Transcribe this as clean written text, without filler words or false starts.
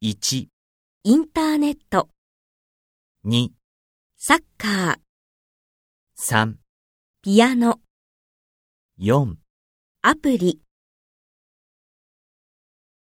1、 インターネット、 2、 サッカー、 3、 ピアノ、 4、 アプリ。